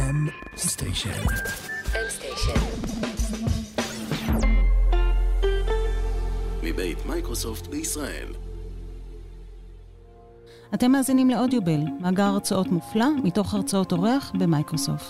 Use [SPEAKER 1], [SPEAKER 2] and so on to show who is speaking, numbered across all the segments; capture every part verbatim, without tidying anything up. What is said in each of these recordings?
[SPEAKER 1] M Station.
[SPEAKER 2] M Station.
[SPEAKER 1] מבית מייקרוסופט בישראל.
[SPEAKER 3] אתם מאזינים לאודיובל, מאגר הרצאות מופלא מתוך הרצאות אורח במייקרוסופט.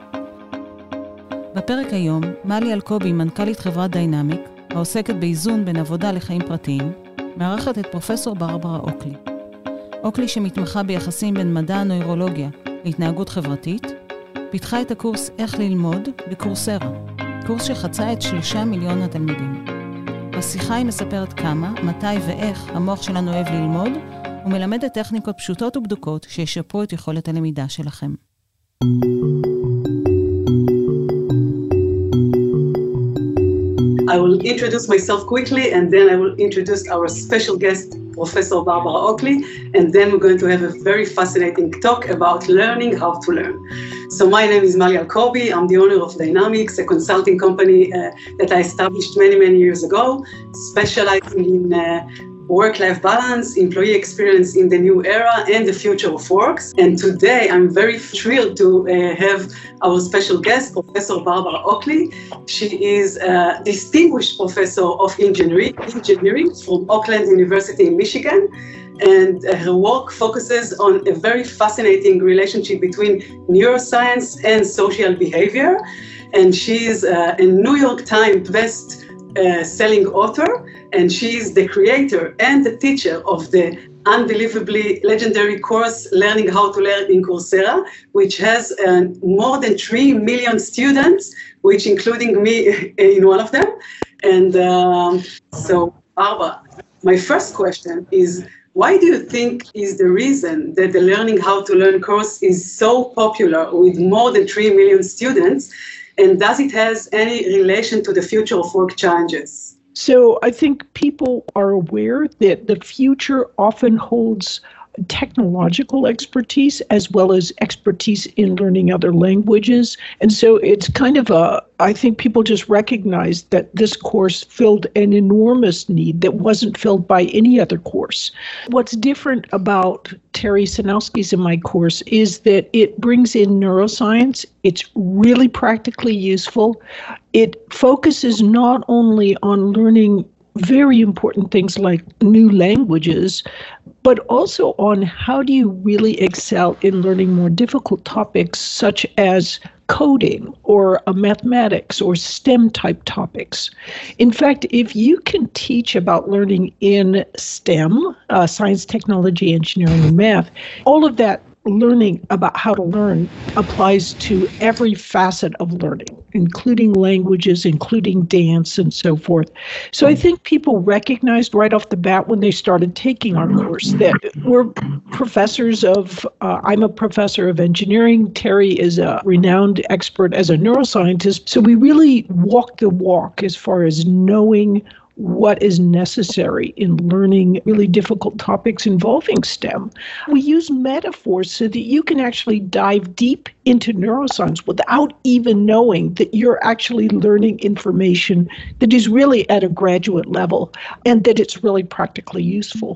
[SPEAKER 3] בפרק היום, מלי אלקובי, מנכ"לית חברת דיינמיק, העוסקת באיזון בין עבודה לחיים פרטיים, מארחת את פרופסור ברברה אוקלי. אוקלי, שמתמחה ביחסים בין מדע הנוירולוגיה להתנהגות חברתית, פיתחה את הקורס איך ללמוד בקורסרה, קורס שחצה את שלושה מיליון התלמידים. בשיחה היא מספרת כמה, מתי ואיך המוח שלנו אוהב ללמוד, ומלמדת טכניקות פשוטות ובדוקות שישפרו את יכולת הלמידה שלכם.
[SPEAKER 4] I will introduce myself quickly and then I will introduce our special guest, Professor Barbara Oakley, and then we're going to have a very fascinating talk about learning how to learn. So my name is Mali Alkobi. I'm the owner of Dynamics, a consulting company uh, that I established many, many years ago, specializing in uh, work-life balance, employee experience in the new era, and the future of work. And today, I'm very thrilled to uh, have our special guest, Professor Barbara Oakley. She is a distinguished professor of engineering, engineering from Oakland University in Michigan. And uh, her work focuses on a very fascinating relationship between neuroscience and social behavior. And she is uh, a New York Times best Uh, selling author, and she is the creator and the teacher of the unbelievably legendary course Learning How to Learn in Coursera, which has uh, more than three million students, which including me in one of them. And um, so, Barbara, my first question is, why do you think is the reason that the Learning How to Learn course is so popular with more than three million students? And does it has any relation to the future of work challenges?
[SPEAKER 5] So I think people are aware that the future often holds technological expertise as well as expertise in learning other languages. And so it's kind of a, I think people just recognize that this course filled an enormous need that wasn't filled by any other course. What's different about Terry Sanowski's in my course is that it brings in neuroscience. It's really practically useful. It focuses not only on learning very important things like new languages, but also on how do you really excel in learning more difficult topics such as coding or uh, mathematics or STEM type topics. In fact, if you can teach about learning in STEM, uh, science, technology, engineering, and math, all of that learning about how to learn applies to every facet of learning, including languages, including dance, and so forth. So I think people recognized right off the bat when they started taking our course that we're professors of, uh, I'm a professor of engineering, Terry is a renowned expert as a neuroscientist, so we really walk the walk as far as knowing what is necessary in learning really difficult topics involving STEM. We use metaphors so that you can actually dive deep into neuroscience without even knowing that you're actually learning information that is really at a graduate level and that it's really practically useful.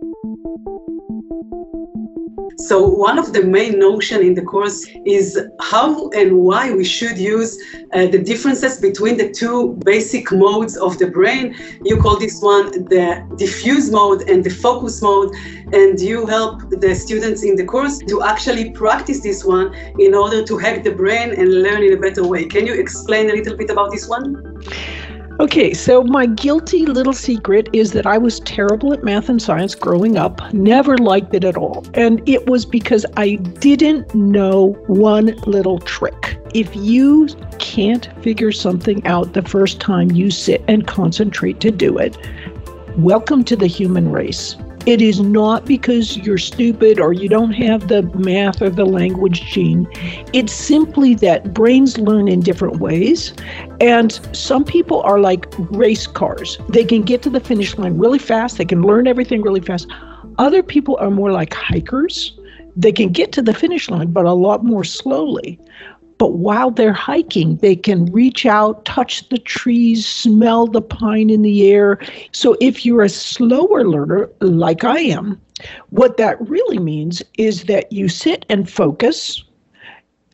[SPEAKER 4] So one of the main notion in the course is how and why we should use uh, the differences between the two basic modes of the brain. You call this one the diffuse mode and the focus mode, and you help the students in the course to actually practice this one in order to hack the brain and learn in a better way. Can you explain a little bit about this one?
[SPEAKER 5] Okay, so my guilty little secret is that I was terrible at math and science growing up, never liked it at all. And it was because I didn't know one little trick. If you can't figure something out the first time you sit and concentrate to do it, welcome to the human race. It is not because you're stupid or you don't have the math or the language gene. It's simply that brains learn in different ways. And some people are like race cars. They can get to the finish line really fast. They can learn everything really fast. Other people are more like hikers. They can get to the finish line, but a lot more slowly. But while they're hiking, they can reach out, touch the trees, smell the pine in the air. So if you're a slower learner, like I am, what that really means is that you sit and focus.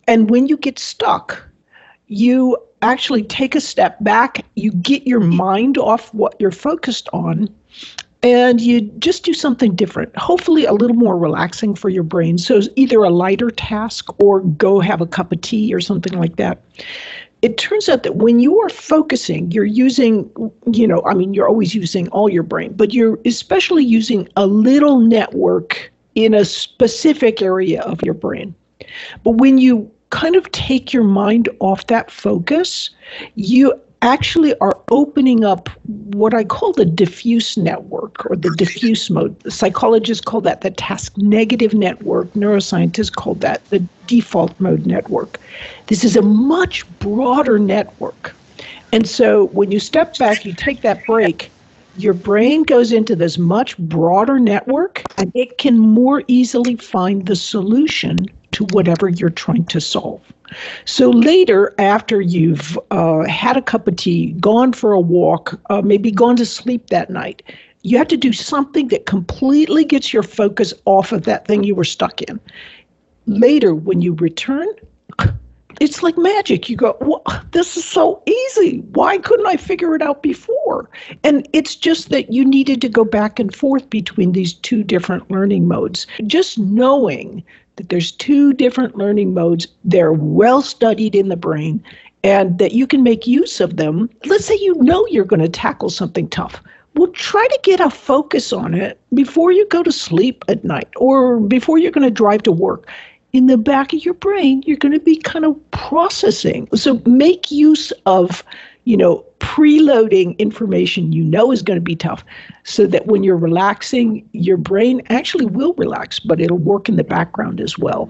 [SPEAKER 5] And when you get stuck, you actually take a step back, you get your mind off what you're focused on, and you just do something different, hopefully a little more relaxing for your brain. So it's either a lighter task or go have a cup of tea or something like that. It turns out that when you are focusing, you're using, you know, I mean, you're always using all your brain, but you're especially using a little network in a specific area of your brain. But when you kind of take your mind off that focus, you actually are opening up what I call the diffuse network or the diffuse mode. The psychologists call that the task negative network. Neuroscientists call that the default mode network. This is a much broader network. And so when you step back, you take that break, your brain goes into this much broader network and it can more easily find the solution to whatever you're trying to solve. So later, after you've uh, had a cup of tea, gone for a walk, uh, maybe gone to sleep that night, you have to do something that completely gets your focus off of that thing you were stuck in. Later, when you return, it's like magic. You go, well, this is so easy. Why couldn't I figure it out before? And it's just that you needed to go back and forth between these two different learning modes. Just knowing that there's two different learning modes, they're well studied in the brain, and that you can make use of them. Let's say you know you're going to tackle something tough. Well, try to get a focus on it before you go to sleep at night or before you're going to drive to work. In the back of your brain, you're going to be kind of processing. So make use of, you know, preloading information you know is going to be tough so that when you're relaxing, your brain actually will relax, but it'll work in the background as well.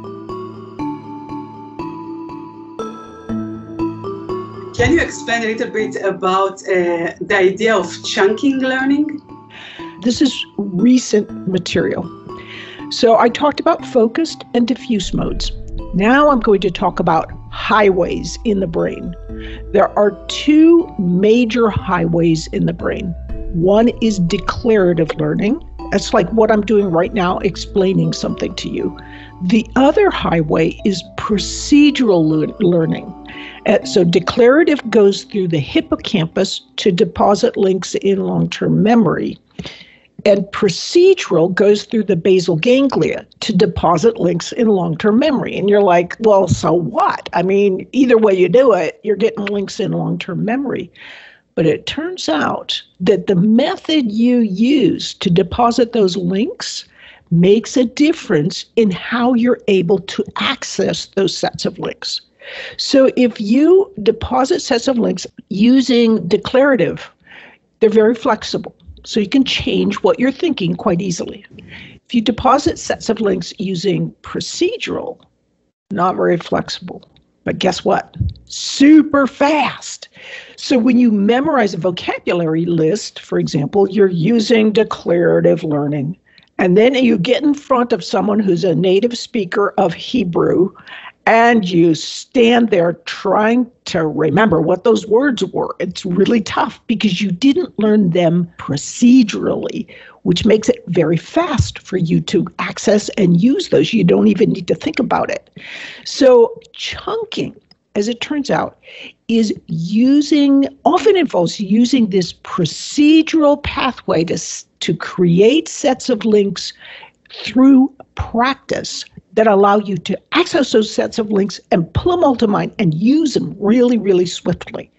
[SPEAKER 4] Can you expand a little bit about uh, the idea of chunking learning?
[SPEAKER 5] This is recent material. So I talked about focused and diffuse modes. Now I'm going to talk about highways in the brain. There are two major highways in the brain. One is declarative learning. That's like what I'm doing right now, explaining something to you. The other highway is procedural le- learning. Uh, so declarative goes through the hippocampus to deposit links in long-term memory. And procedural goes through the basal ganglia to deposit links in long-term memory. And you're like, well, so what? I mean, either way you do it, you're getting links in long-term memory. But it turns out that the method you use to deposit those links makes a difference in how you're able to access those sets of links. So if you deposit sets of links using declarative, they're very flexible. So you can change what you're thinking quite easily. If you deposit sets of links using procedural, not very flexible. But guess what? Super fast. So when you memorize a vocabulary list, for example, you're using declarative learning. And then you get in front of someone who's a native speaker of Hebrew, and you stand there trying to remember what those words were. It's really tough because you didn't learn them procedurally, which makes it very fast for you to access and use those. You don't even need to think about it. So chunking, as it turns out, is using, often involves using this procedural pathway to, to create sets of links through practice that allow you to access those sets of links and pull them all to mind and use them really, really swiftly.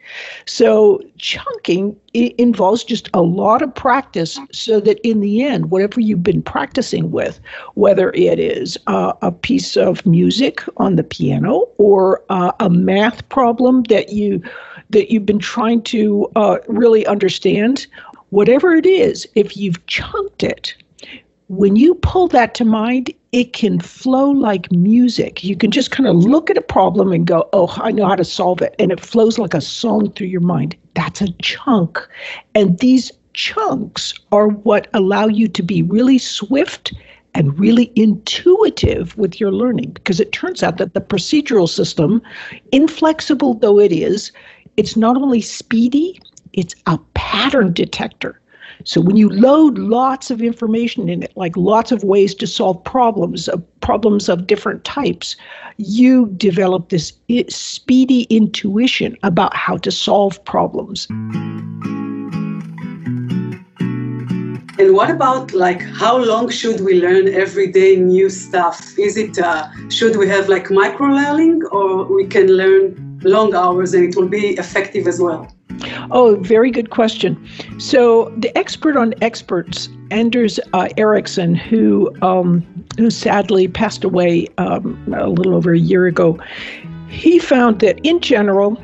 [SPEAKER 5] So chunking it involves just a lot of practice so that in the end, whatever you've been practicing with, whether it is uh, a piece of music on the piano or uh, a math problem that, you, that you've been trying to uh, really understand, whatever it is, if you've chunked it, when you pull that to mind, it can flow like music. You can just kind of look at a problem and go, oh, I know how to solve it. And it flows like a song through your mind. That's a chunk. And these chunks are what allow you to be really swift and really intuitive with your learning. Because it turns out that the procedural system, inflexible though it is, it's not only speedy, it's a pattern detector. So when you load lots of information in it, like lots of ways to solve problems, uh, problems of different types, you develop this I- speedy intuition about how to solve problems.
[SPEAKER 4] And what about like how long should we learn every day new stuff? Is it uh, should we have like micro learning, or we can learn long hours and it will be effective as well?
[SPEAKER 5] Oh, very good question. So the expert on experts, Anders uh, Ericsson, who um, who sadly passed away um, a little over a year ago, he found that in general,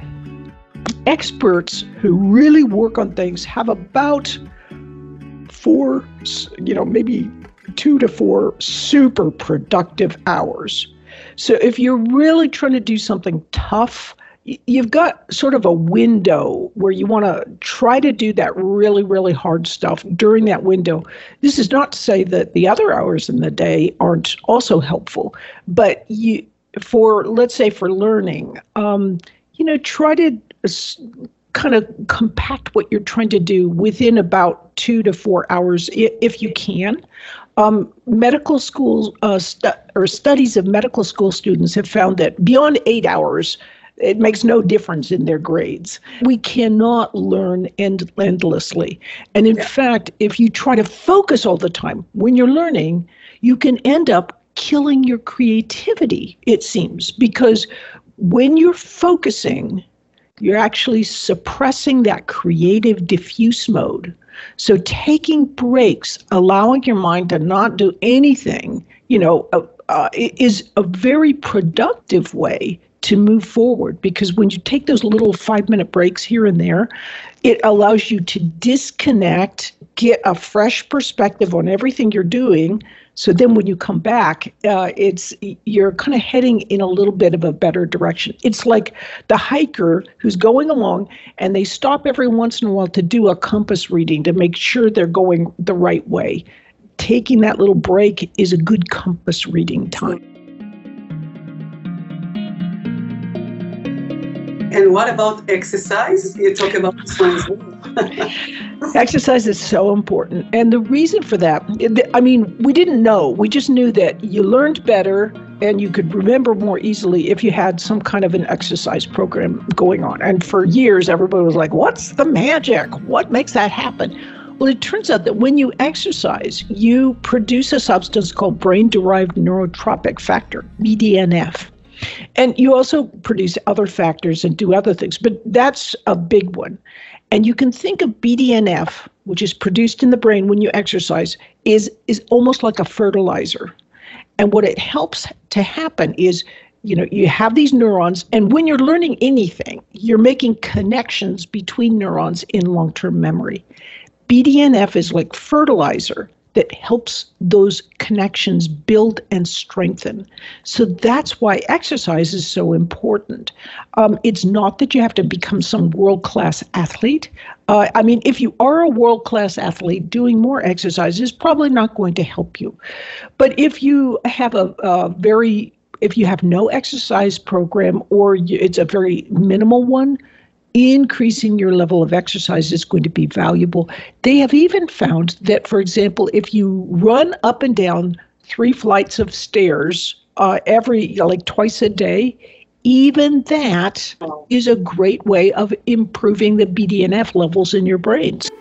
[SPEAKER 5] experts who really work on things have about four, you know, maybe two to four super productive hours. So if you're really trying to do something tough, you've got sort of a window where you want to try to do that really, really hard stuff during that window. This is not to say that the other hours in the day aren't also helpful, but you, for, let's say for learning, um, you know, try to kind of compact what you're trying to do within about two to four hours if you can. Um, medical schools uh, stu- or studies of medical school students have found that beyond eight hours, it makes no difference in their grades. We cannot learn end- endlessly. And in yeah. fact, if you try to focus all the time when you're learning, you can end up killing your creativity, it seems, because when you're focusing, you're actually suppressing that creative diffuse mode. So taking breaks, allowing your mind to not do anything, you know, uh, uh, is a very productive way to move forward, because when you take those little five-minute breaks here and there, it allows you to disconnect, get a fresh perspective on everything you're doing. So then when you come back, uh, it's you're kind of heading in a little bit of a better direction. It's like the hiker who's going along and they stop every once in a while to do a compass reading to make sure they're going the right way. Taking that little break is a good compass reading time.
[SPEAKER 4] And what about exercise? You talk about this one as well.
[SPEAKER 5] Exercise is so important. And the reason for that, I mean, we didn't know. We just knew that you learned better and you could remember more easily if you had some kind of an exercise program going on. And for years, everybody was like, what's the magic? What makes that happen? Well, it turns out that when you exercise, you produce a substance called brain-derived neurotrophic factor, B D N F. And you also produce other factors and do other things, but that's a big one. And you can think of B D N F, which is produced in the brain when you exercise, is, is almost like a fertilizer. And what it helps to happen is, you know, you have these neurons, and when you're learning anything, you're making connections between neurons in long-term memory. B D N F is like fertilizer that helps those connections build and strengthen. So that's why exercise is so important. Um, it's not that you have to become some world-class athlete. Uh, I mean, if you are a world-class athlete, doing more exercise is probably not going to help you. But if you have a, a very, if you have no exercise program, or you, it's a very minimal one, increasing your level of exercise is going to be valuable. They have even found that, for example, if you run up and down three flights of stairs uh, every, you know, like twice a day, even that is a great way of improving the B D N F levels in your brains.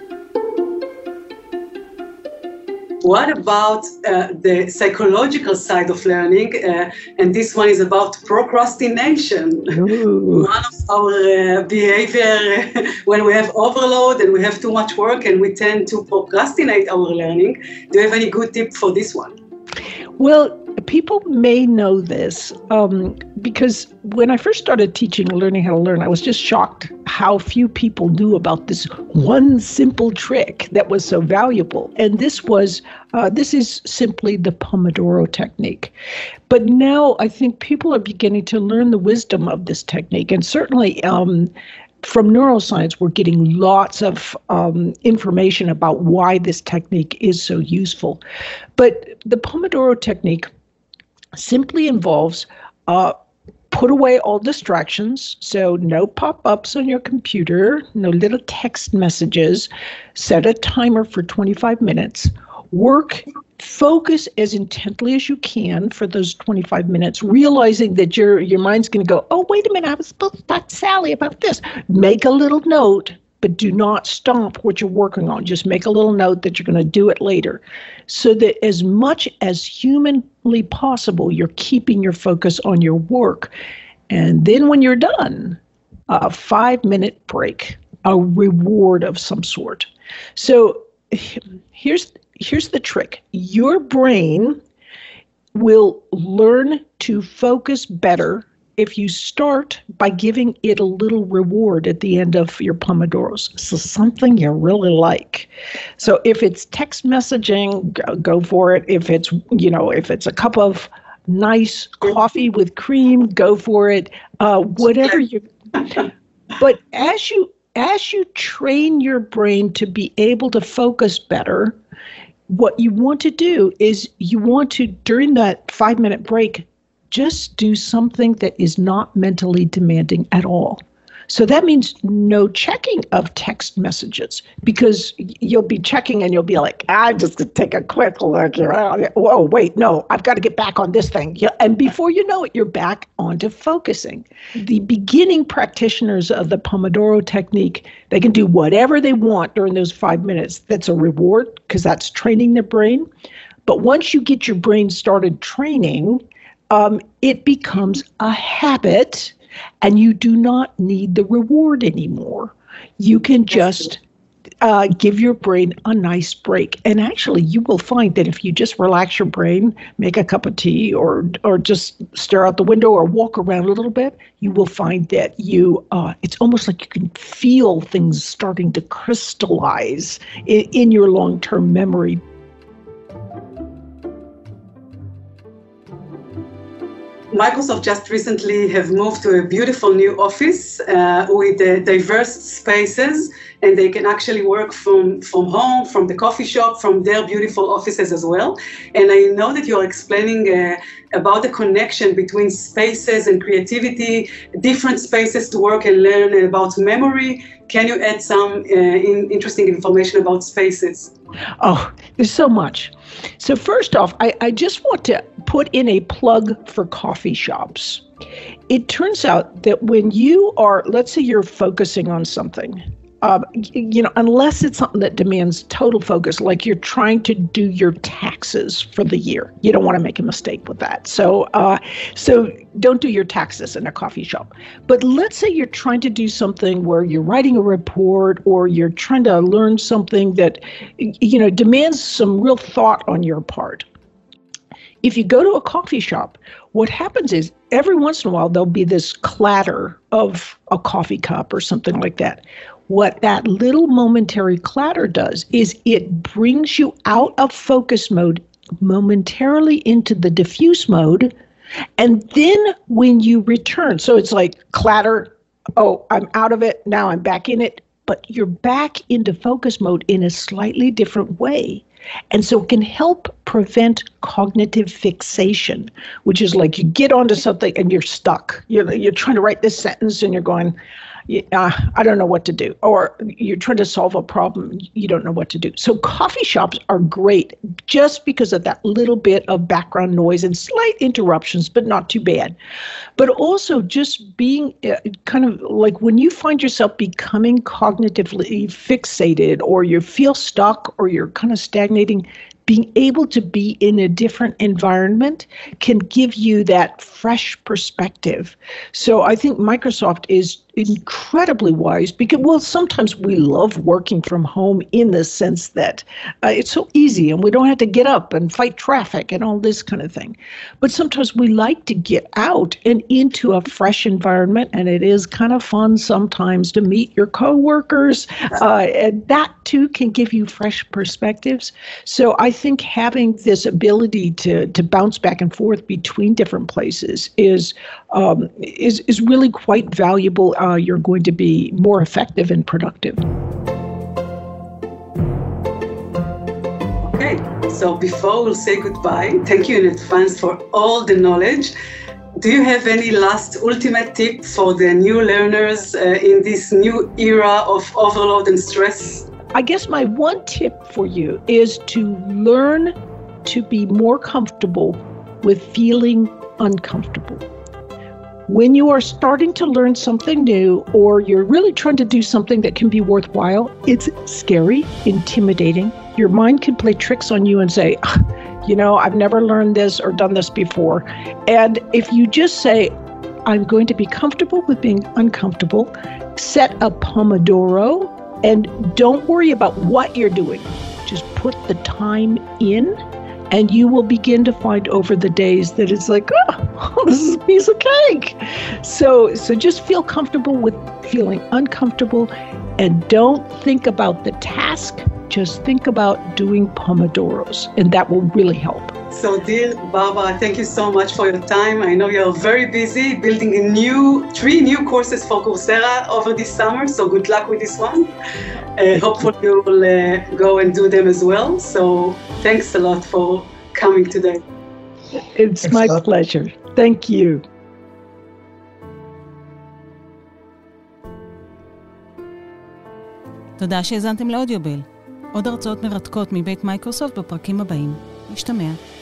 [SPEAKER 4] What about uh, the psychological side of learning? Uh, and this one is about procrastination.
[SPEAKER 5] Ooh.
[SPEAKER 4] One of our uh, behavior when we have overload and we have too much work and we tend to procrastinate our learning. Do you have any good tip for this one?
[SPEAKER 5] Well, people may know this um, because when I first started teaching Learning How to Learn, I was just shocked how few people knew about this one simple trick that was so valuable. And this was, uh, this is simply the Pomodoro technique. But now I think people are beginning to learn the wisdom of this technique. And certainly um, from neuroscience, we're getting lots of um, information about why this technique is so useful. But the Pomodoro technique simply involves uh, put away all distractions. So no pop-ups on your computer, no little text messages. Set a timer for twenty-five minutes. Work, focus as intently as you can for those twenty-five minutes, realizing that your your mind's going to go, oh, wait a minute, I was supposed to talk to Sally about this. Make a little note, but do not stop what you're working on. Just make a little note that you're going to do it later, so that as much as humanly possible, you're keeping your focus on your work. And then when you're done, a five-minute break, a reward of some sort. So here's Here's the trick. Your brain will learn to focus better if you start by giving it a little reward at the end of your Pomodoros. So something you really like. So if it's text messaging, go, go for it. If it's, you know, if it's a cup of nice coffee with cream, go for it. Uh, whatever you. But as you as you train your brain to be able to focus better, what you want to do is you want to, during that five-minute break, just do something that is not mentally demanding at all. So that means no checking of text messages, because you'll be checking and you'll be like, I just could take a quick look. Whoa, wait, no, I've got to get back on this thing. And before you know it, you're back onto focusing. The beginning practitioners of the Pomodoro technique, they can do whatever they want during those five minutes. That's a reward, because that's training their brain. But once you get your brain started training, um, it becomes a habit. And you do not need the reward anymore. You can just uh, give your brain a nice break. And actually, you will find that if you just relax your brain, make a cup of tea, or or just stare out the window or walk around a little bit, you will find that you uh, it's almost like you can feel things starting to crystallize in, in your long-term memory.
[SPEAKER 4] Microsoft just recently have moved to a beautiful new office uh, with uh, diverse spaces, and they can actually work from, from home, from the coffee shop, from their beautiful offices as well. And I know that you're explaining uh, about the connection between spaces and creativity, different spaces to work and learn, and about memory. Can you add some uh, in, interesting information about spaces?
[SPEAKER 5] Oh, there's so much. So first off, I, I just want to put in a plug for coffee shops. It turns out that when you are, let's say you're focusing on something, um, you know, unless it's something that demands total focus, like you're trying to do your taxes for the year, you don't want to make a mistake with that. So, uh, so don't do your taxes in a coffee shop. But let's say you're trying to do something where you're writing a report, or you're trying to learn something that, you know, demands some real thought on your part. If you go to a coffee shop, what happens is every once in a while, there'll be this clatter of a coffee cup or something like that. What that little momentary clatter does is it brings you out of focus mode momentarily into the diffuse mode. And then when you return, so it's like clatter, oh, I'm out of it, now I'm back in it, but you're back into focus mode in a slightly different way. And so it can help prevent cognitive fixation, which is like you get onto something and you're stuck. You're, you're trying to write this sentence and you're going, uh, I don't know what to do. Or you're trying to solve a problem, you don't know what to do. So coffee shops are great just because of that little bit of background noise and slight interruptions, but not too bad. But also just being uh, kind of like when you find yourself becoming cognitively fixated, or you feel stuck, or you're kind of stagnating, being able to be in a different environment can give you that fresh perspective. So I think Microsoft is incredibly wise because, well, sometimes we love working from home in the sense that uh, it's so easy and we don't have to get up and fight traffic and all this kind of thing. But sometimes we like to get out and into a fresh environment, and it is kind of fun sometimes to meet your coworkers, uh, and that too can give you fresh perspectives. So I think having this ability to to bounce back and forth between different places is um, is is really quite valuable. Uh, you're going to be more effective and productive.
[SPEAKER 4] Okay, so before we'll say goodbye, thank you in advance for all the knowledge. do you have any last ultimate tip for the new learners uh, in this new era of overload and stress?
[SPEAKER 5] I guess my one tip for you is to learn to be more comfortable with feeling uncomfortable. When you are starting to learn something new, or you're really trying to do something that can be worthwhile, it's scary, intimidating. Your mind can play tricks on you and say, you know, I've never learned this or done this before. And if you just say, I'm going to be comfortable with being uncomfortable, set a Pomodoro, and don't worry about what you're doing. Just put the time in, and you will begin to find over the days that it's like, oh, this is a piece of cake. So, so just feel comfortable with feeling uncomfortable, and don't think about the task. Just think about doing Pomodoros, and that will really help.
[SPEAKER 4] So, dear Barbara, thank you so much for your time. I know you're very busy building a new, three new courses for Coursera over this summer, so good luck with this one. Uh, hopefully you will uh, go and do them as well. So thanks a lot for coming today.
[SPEAKER 5] It's my pleasure. Thank you.
[SPEAKER 3] תודה שהזנתם לאודיובל. עוד הרצאות מרתקות מבית מייקרוסופט בפרקים הבאים. נשתמע.